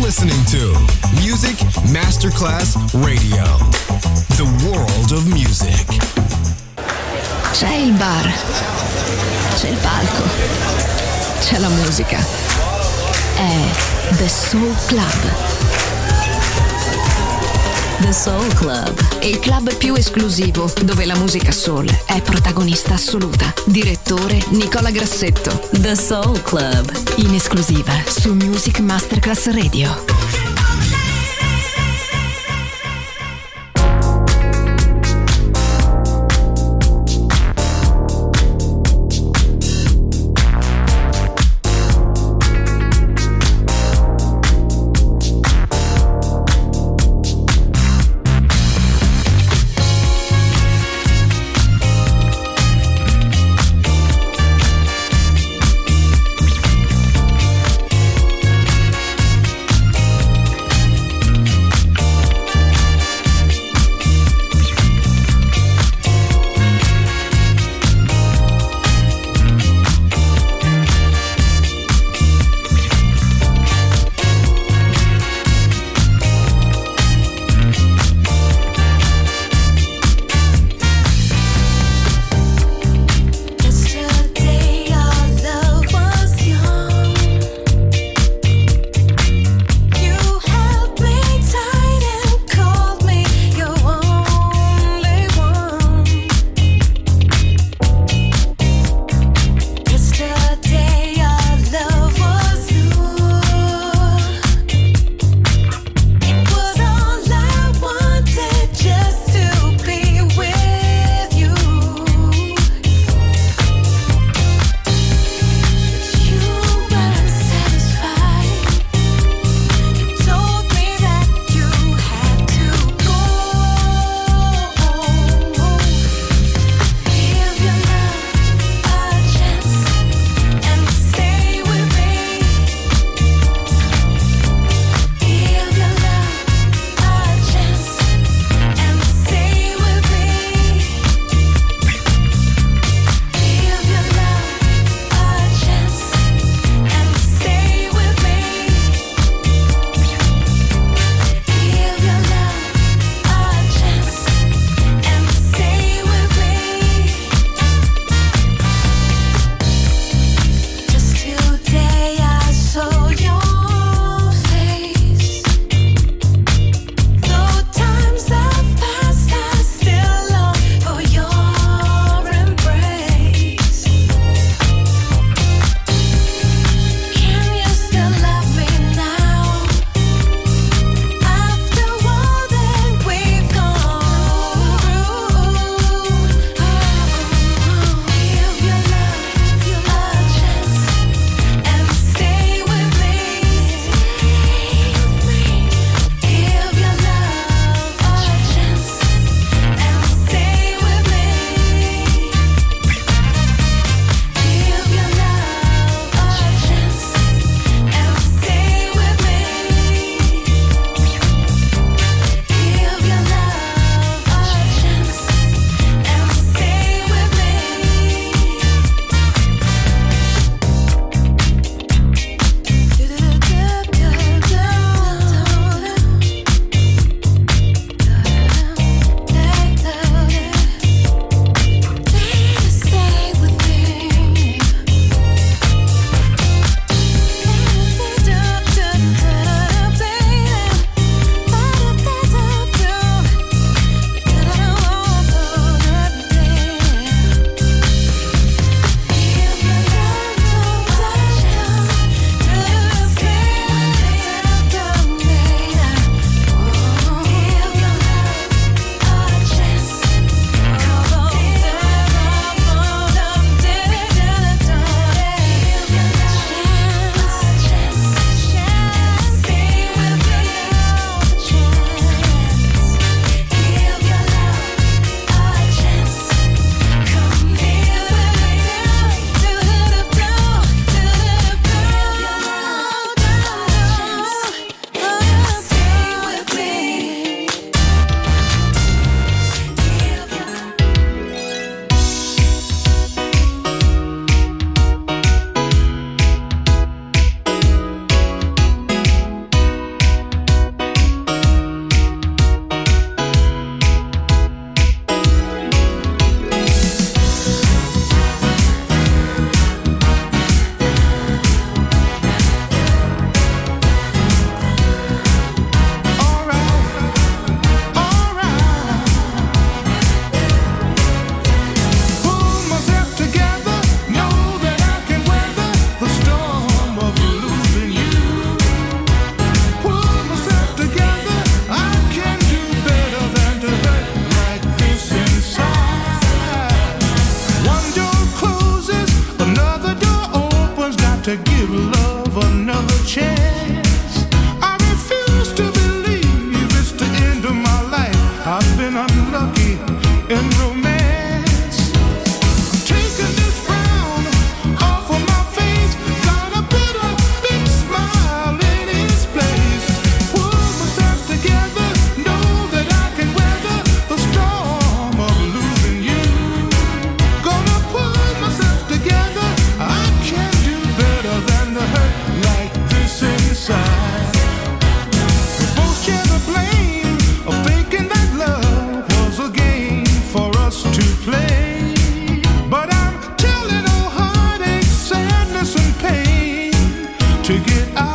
listening to Music Masterclass Radio, the world of music. C'è il bar, c'è il palco, c'è la musica. È The Soul Club. The Soul Club, il club più esclusivo dove la musica soul è protagonista assoluta. Direttore Nicola Grassetto. The Soul Club, in esclusiva su Music Masterclass Radio.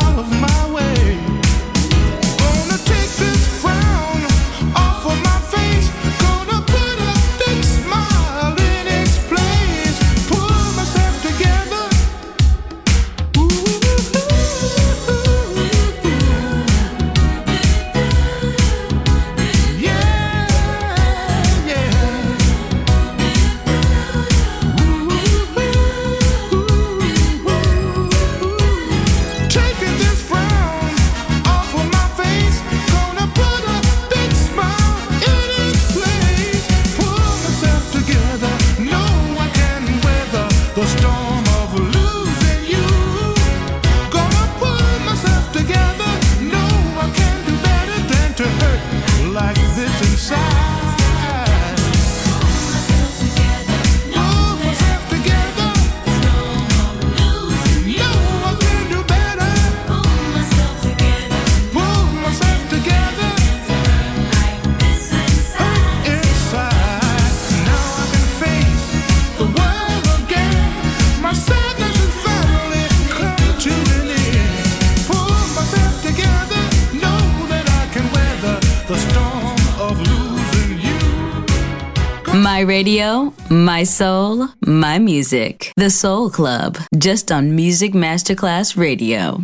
My radio, my soul, my music. The Soul Club, just on Music Masterclass Radio.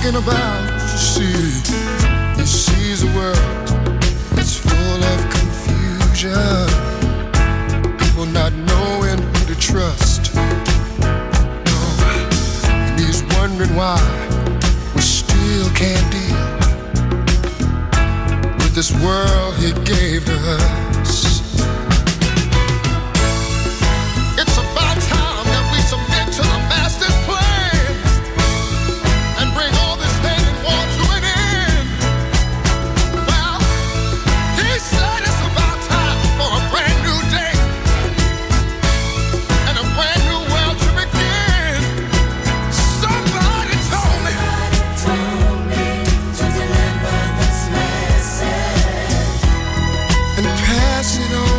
talking about. You see the world, it's full of confusion. People not knowing who to trust. Oh, and he's wondering why we still can't deal with this world he gave to us. It's about time that we submit to the master's plan and bring all this hate and war to an end. Well, he said it's about time for a brand new day and a brand new world to begin. Somebody told me to deliver this message and pass it on.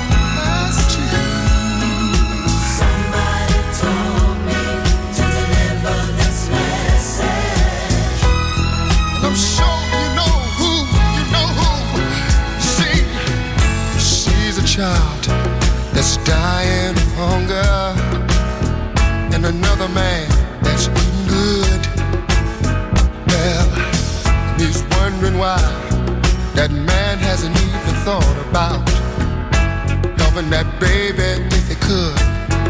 Child that's dying of hunger, and another man that's eating good. Well, he's wondering why that man hasn't even thought about loving that baby if he could.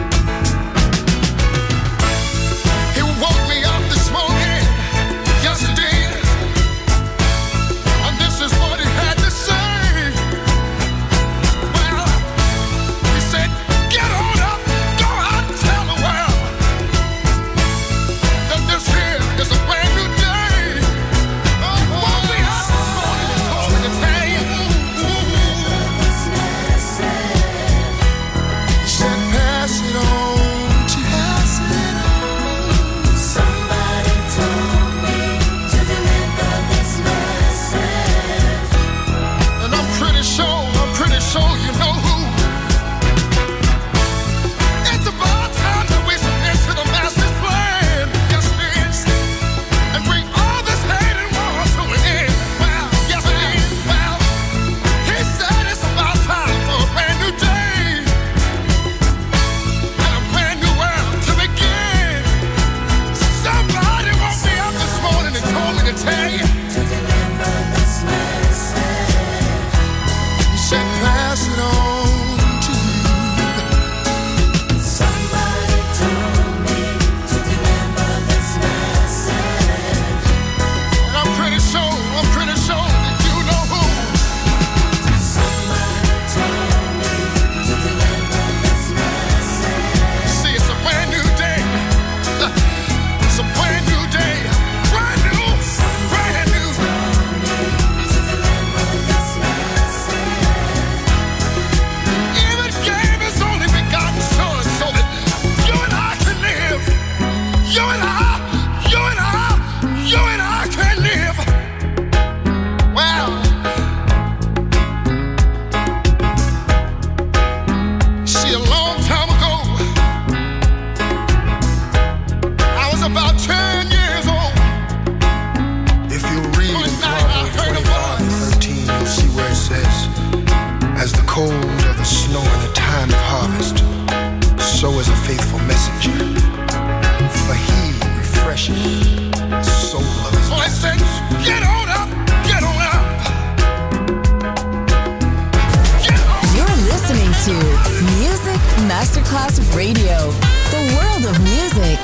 He woke me up this morning, yesterday, and this is what he had to say. Masterclass Radio, the world of music.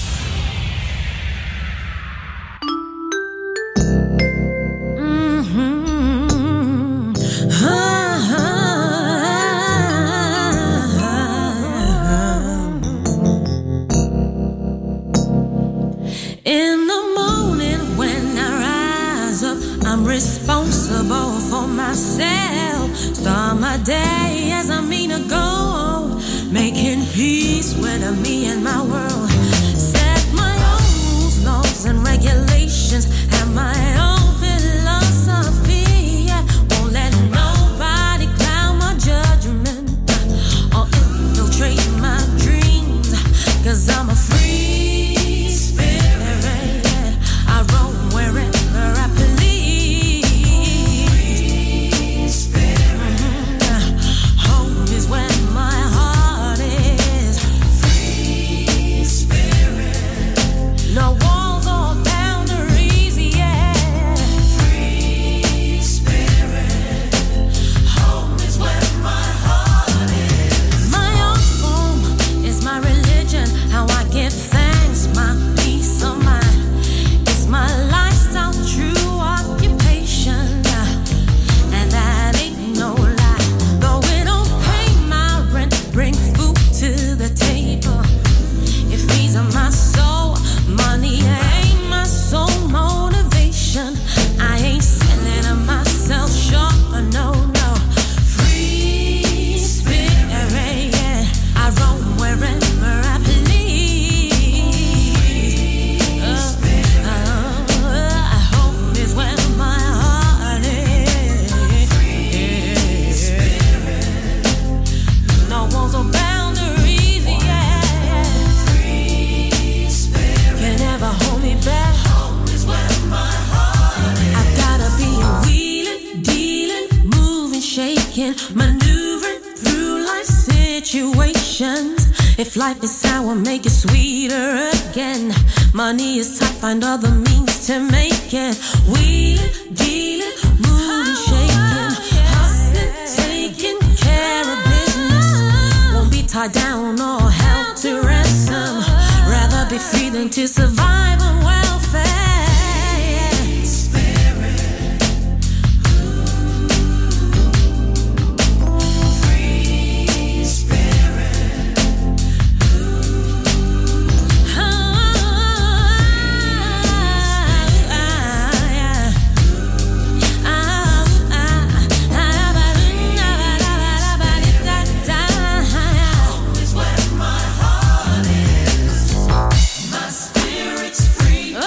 In the morning when I rise up, I'm responsible for myself. Start my day as I mean to go, making peace with me and my world. Set my own rules, laws, and regulations, and my own philosophy. Won't let nobody cloud my judgment or infiltrate my dreams, 'cause I'm a free spirit. I roam wherever I please. Free spirit. Home is where my heart is. Free spirit. If life is sour, make it sweeter again. Money is tight, find other means to make it. We dealing, moving, shaking, hustling, taking care of business. Won't be tied down or held to ransom. Rather be free than to survive on welfare. My spirit's free.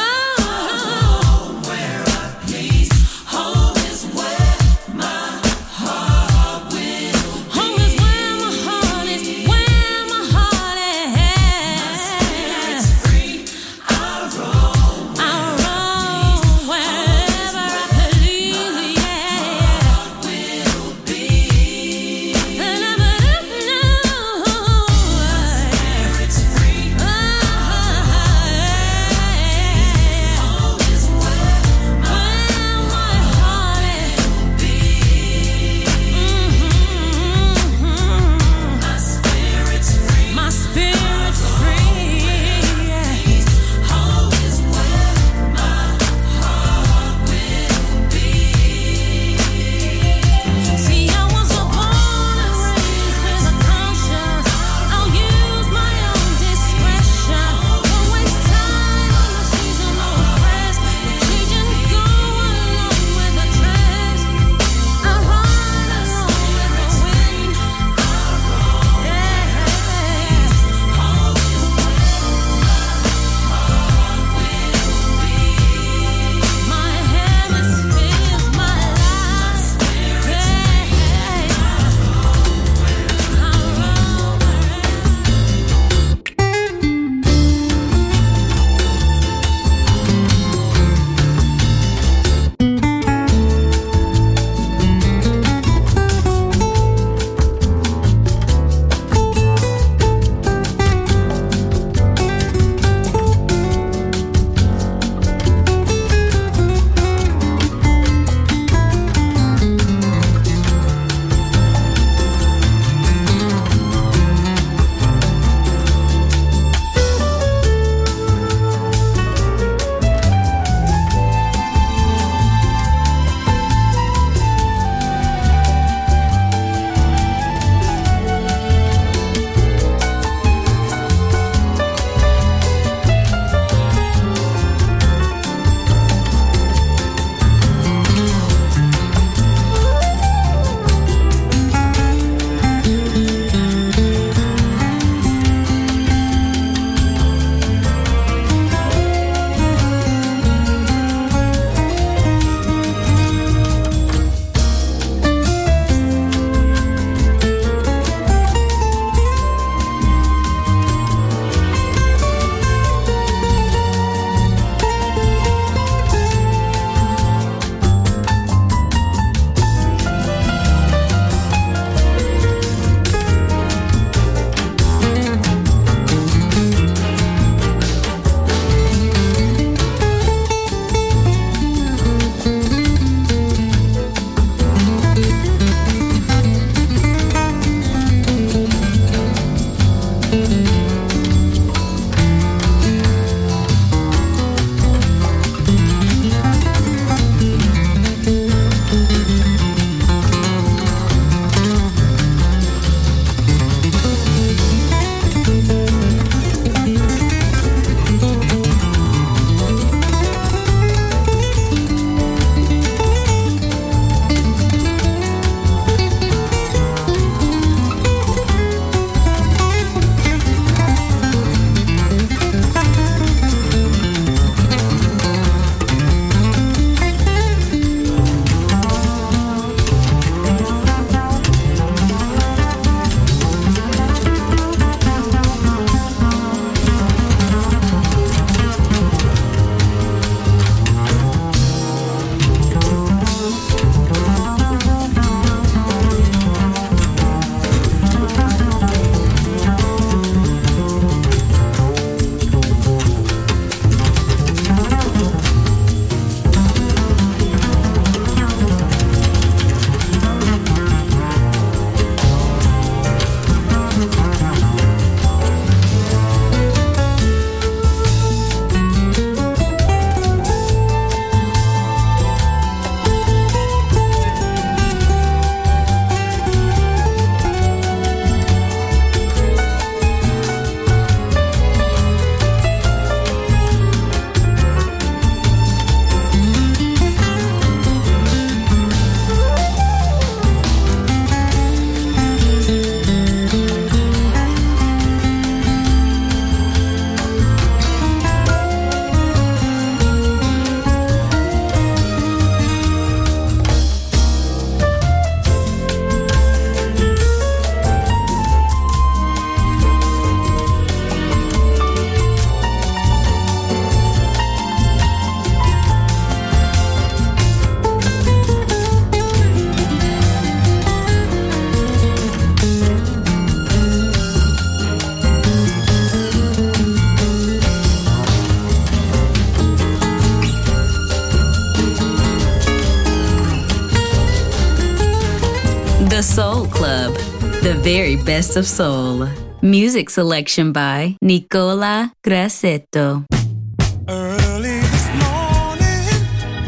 Soul Club, the very best of soul. Music selection by Nicola Grassetto. Early this morning,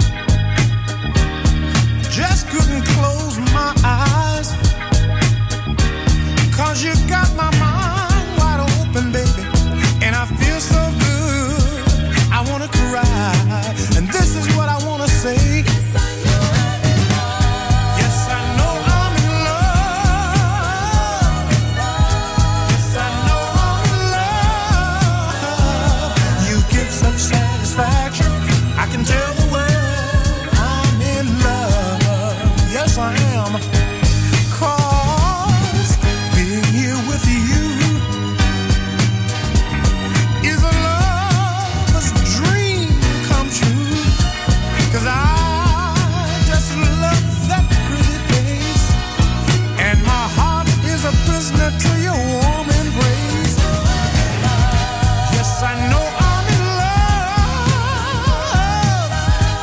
just couldn't close my eyes, 'cause you got my mind wide open, baby, and I feel so good, I wanna cry, and this is what I wanna say. I can tell the world I'm in love. Yes, I am. 'Cause being here with you is a lover's dream come true. 'Cause I just love that pretty face, and my heart is a prisoner to your warm embrace. Yes, I know I'm in love.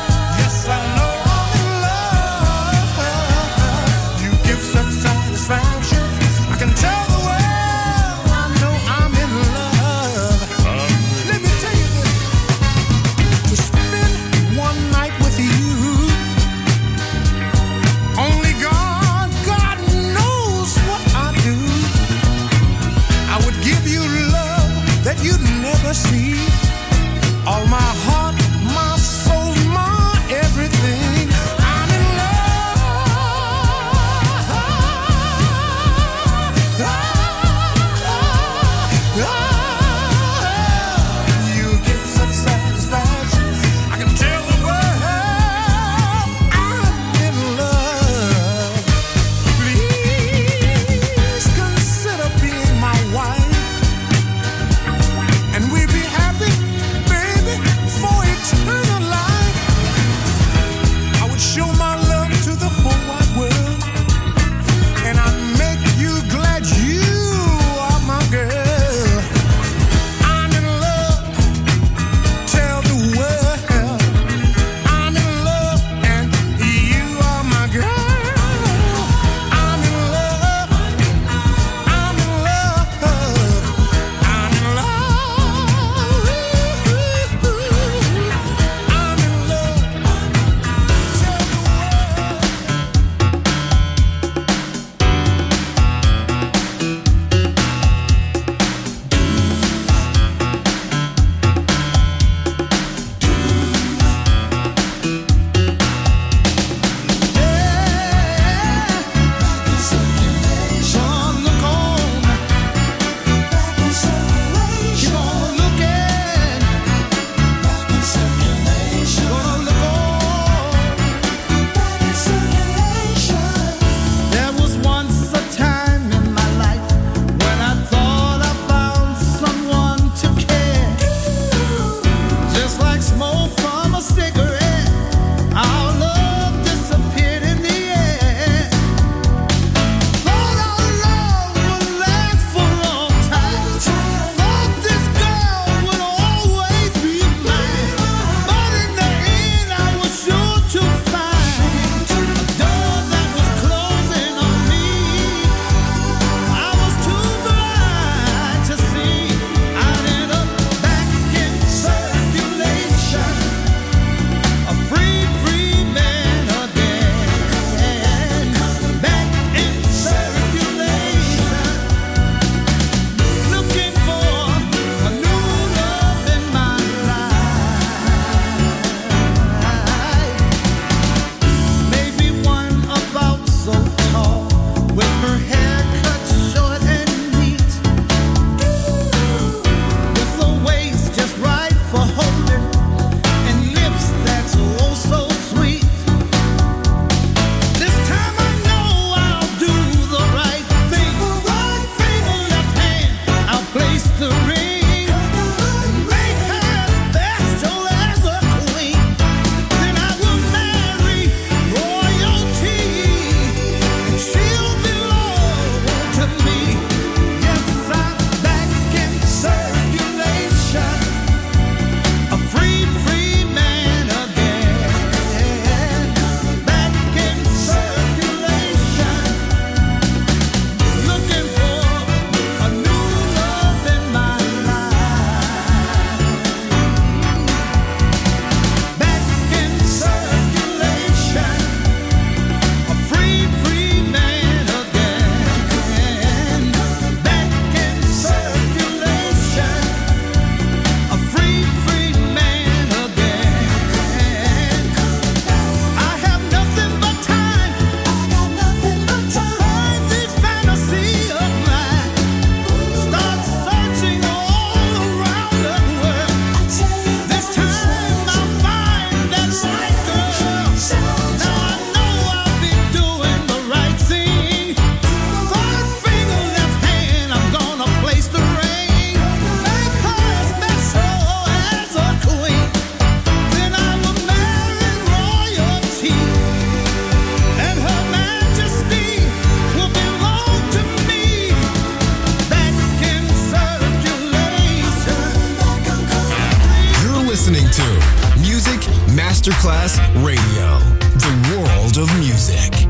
Masterclass Radio, the world of music.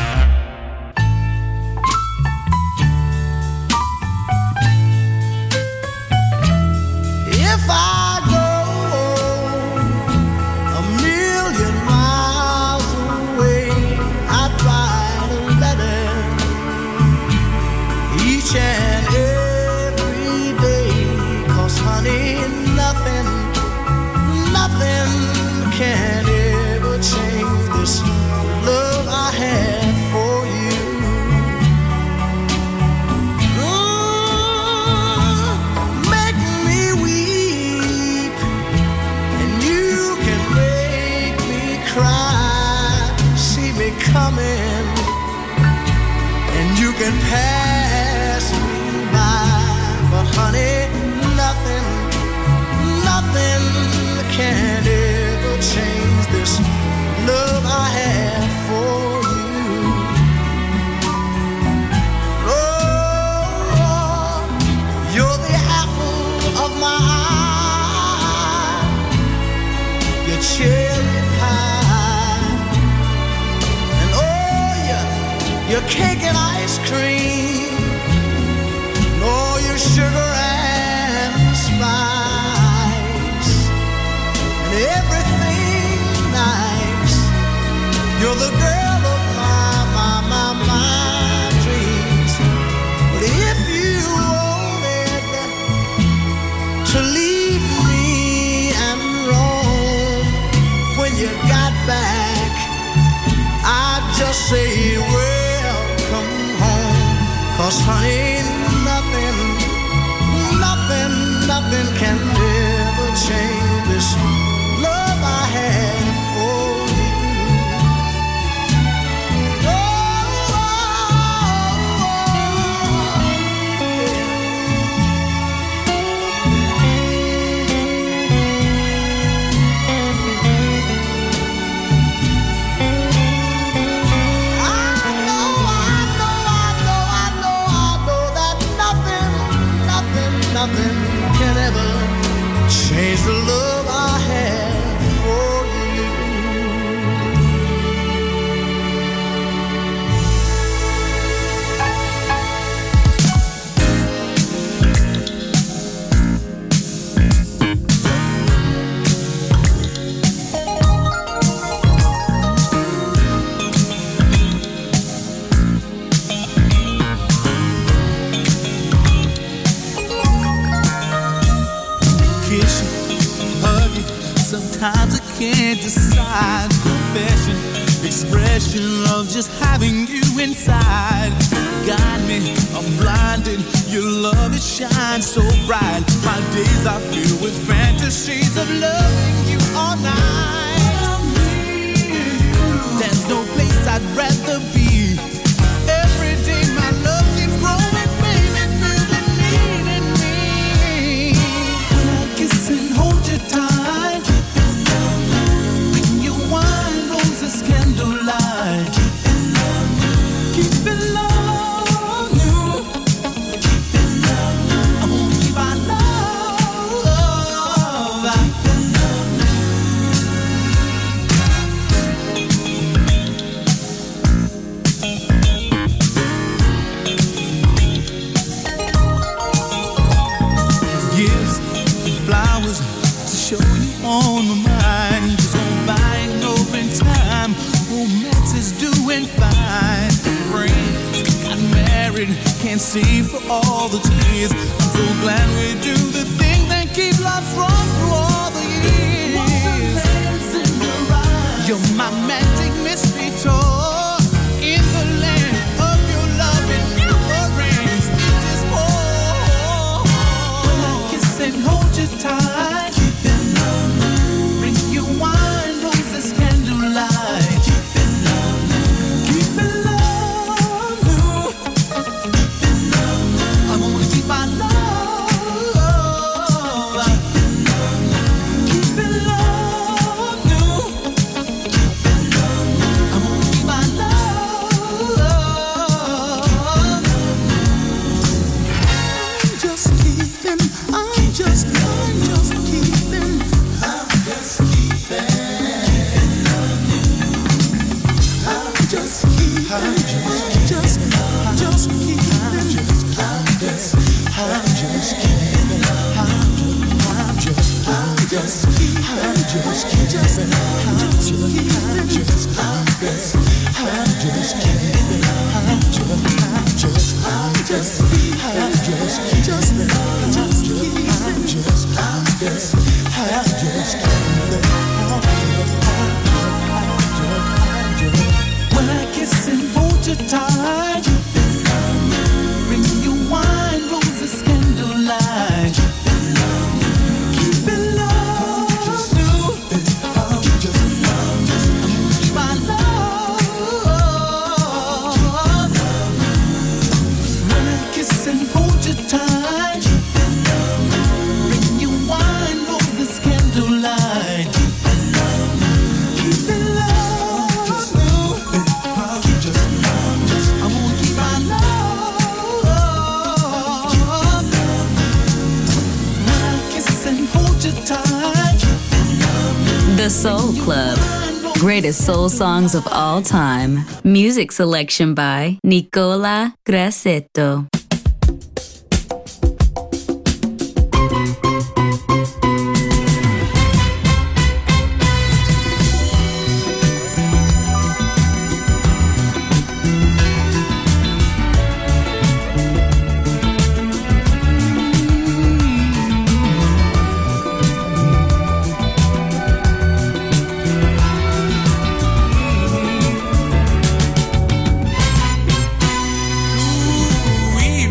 If I go a million miles away, I'd write a letter each and every day. 'Cause honey, nothing can ever change this love I have for you. Make me weep, and you can make me cry. See me coming, and you can pass me by. But honey, nothing can ever change this love I have for you. Oh, you're the apple of my eye, your cherry pie, and oh, your cake and ice cream, and all your sugar and spice. Everything nice. You're the girl of my dreams. But if you wanted to leave me and roam, when you got back, I'd just say welcome home. 'Cause honey, nothing can ever change this love I have for you. I know that nothing can ever change the love I have for you. Sometimes I can't decide. Confession, expression of just having you inside. Guide me, I'm blinded. Your love, it shines so bright. My days are filled with fantasies of loving you all night. There's no place I'd rather be. Every day my love keeps growing, baby, feel the need in me. When I kiss and hold you tight, candlelight, keep it love you, keep it love you. I'm gonna keep our love, keep it love you. Gifts and flowers to show you on my mind. Just gonna buy no in time. Romance is doing fine. Friends got married, can't see for all the tears. I'm so glad we do the things that keep love strong through all the years. You're my magic mystery tour in the land of your love and your rings. It is more. When I kiss and hold you tight, keep it love. Bring you wine, roses, candlelight. When I kiss and hold you tight, bring you wine, roses, candlelight. Keep it love, my love. When I kiss and hold you tight, bring you wine, roses, candlelight. Keep it love. The Soul Club. Greatest soul songs of all time. Music selection by Nicola Grassetto. We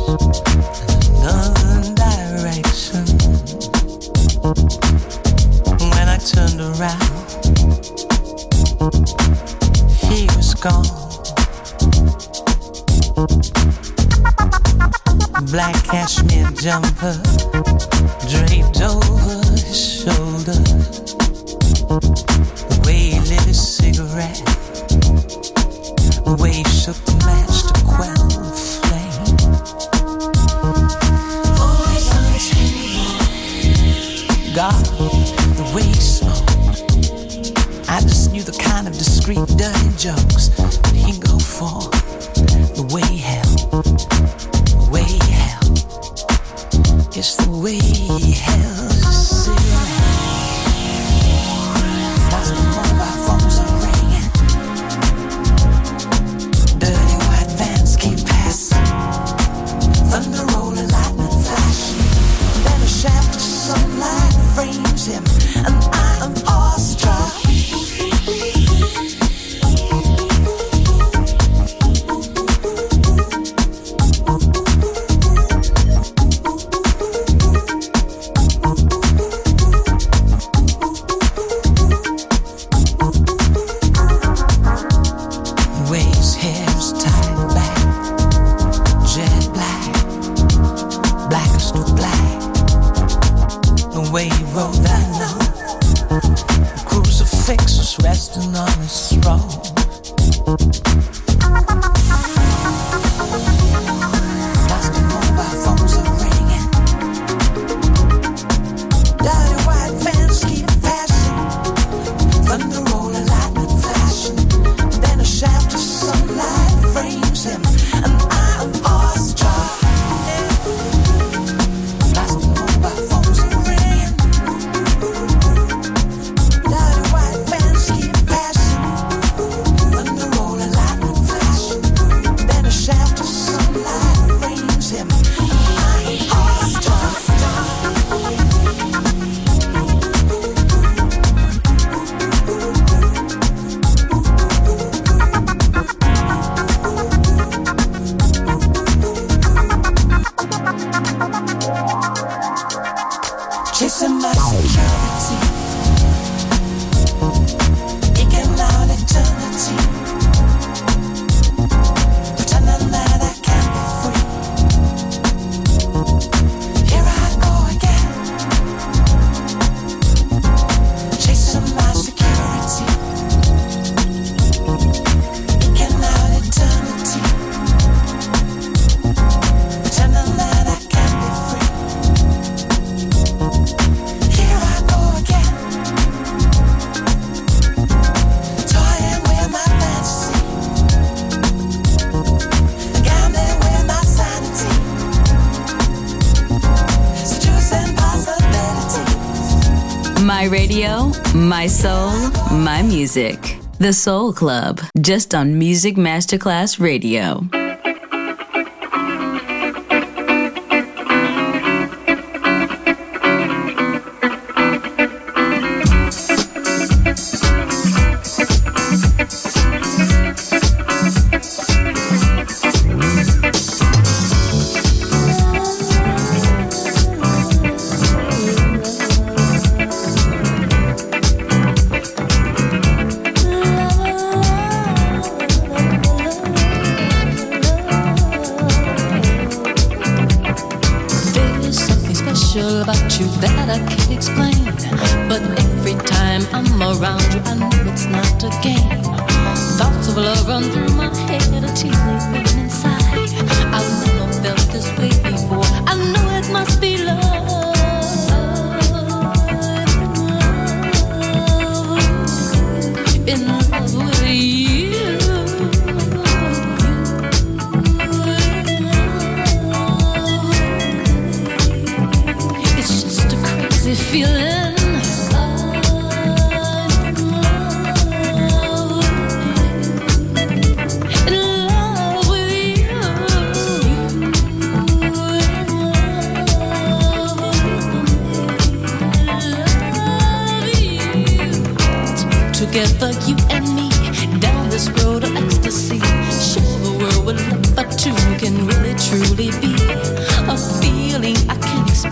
another direction. When I turned around, he was gone. Black cashmere jumper draped over his shoulder. The way he lit his cigarette, the way he shook the match to quell the flame. Always on his hand. God, the way he smoked, I just knew the kind of discreet, dirty jokes that he'd go for. The way he held, the way he held, it's the way he held his cigarette. Lost the mobile phones are ringing, dirty white vans keep passing, thunder rolling, lightning flashing. Then a shaft of sunlight frames him, and I am awestruck. My radio, my soul, my music. The Soul Club, just on Music Masterclass Radio. Together, you and me, down this road of ecstasy. Show the world what love but two can really truly be.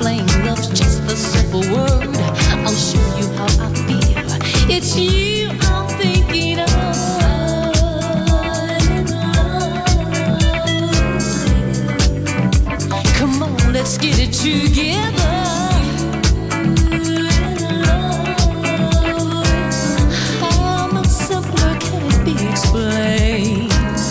explain love's just a simple word. I'll show you how I feel. It's you I'm thinking of. Come on, let's get it together. How much simpler can it be explained?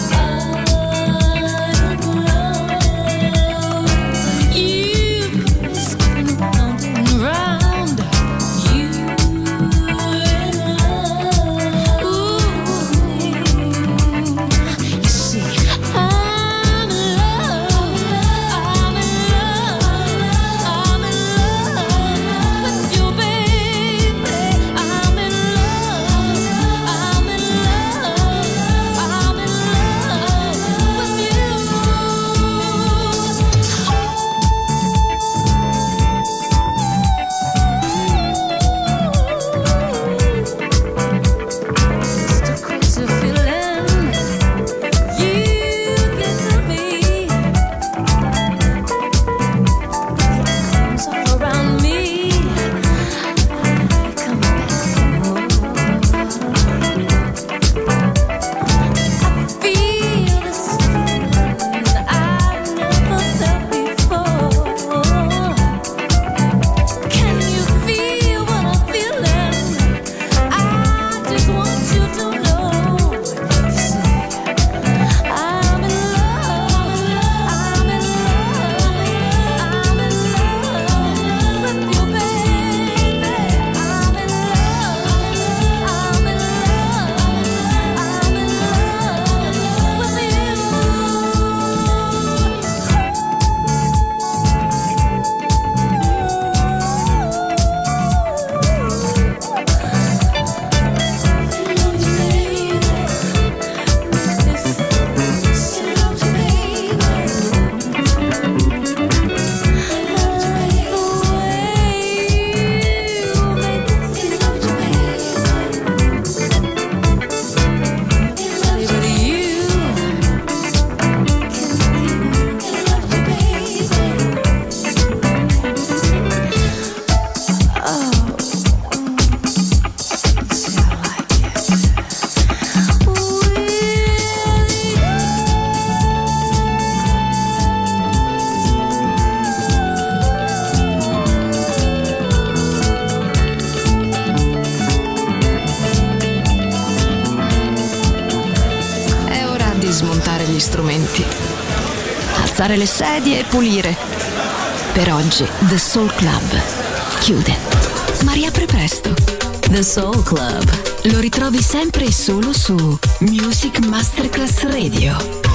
Alzare le sedie e pulire. Per oggi The Soul Club chiude, ma riapre presto. The Soul Club lo ritrovi sempre e solo su Music Masterclass Radio.